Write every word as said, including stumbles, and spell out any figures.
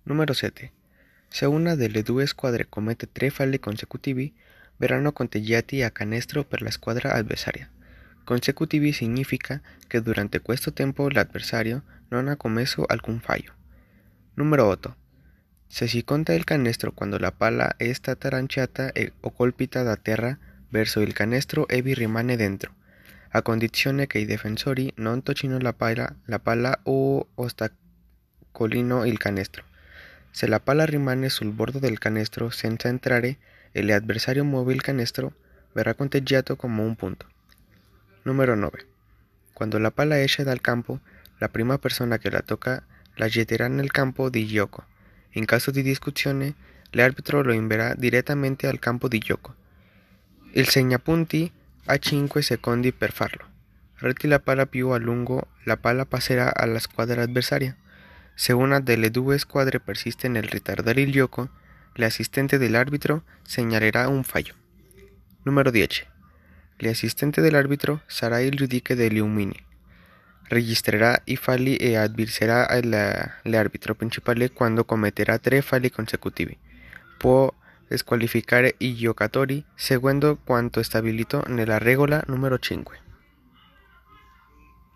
Numero sette. Se una delle due squadre commette tre falli consecutivi, verranno conteggiati a canestro per la squadra avversaria. Consecutivi significa che durante questo tempo l'avversario non ha commesso alcun fallo. Numero otto. Se si conta il canestro quando la palla è stata lanciata e, o colpita da terra verso il canestro e vi rimane dentro, a condizione che i difensori non toccino la palla, la palla o ostacolino il canestro. Se la palla rimane sul bordo del canestro senza entrare e l'avversario muove il canestro, verrà conteggiato come un punto. Numero nove. Quando la palla esce dal campo, la prima persona che la tocca la getterà nel campo di gioco. In caso di discussione, l'arbitro lo invierà direttamente al campo di gioco. Il segnapunti ha cinque secondi per farlo. Reti la palla più a lungo, la palla passerà alla squadra avversaria. Se una delle due squadre persiste nel ritardare il gioco, l'assistente dell'arbitro segnalerà un fallo. Numero dieci. L'assistente dell'arbitro sarà il giudice degli uomini. Registrerà i falli e avviserà l'arbitro principale quando commetterà tre falli consecutivi. Può squalificare i giocatori seguendo quanto stabilito nella regola numero cinque.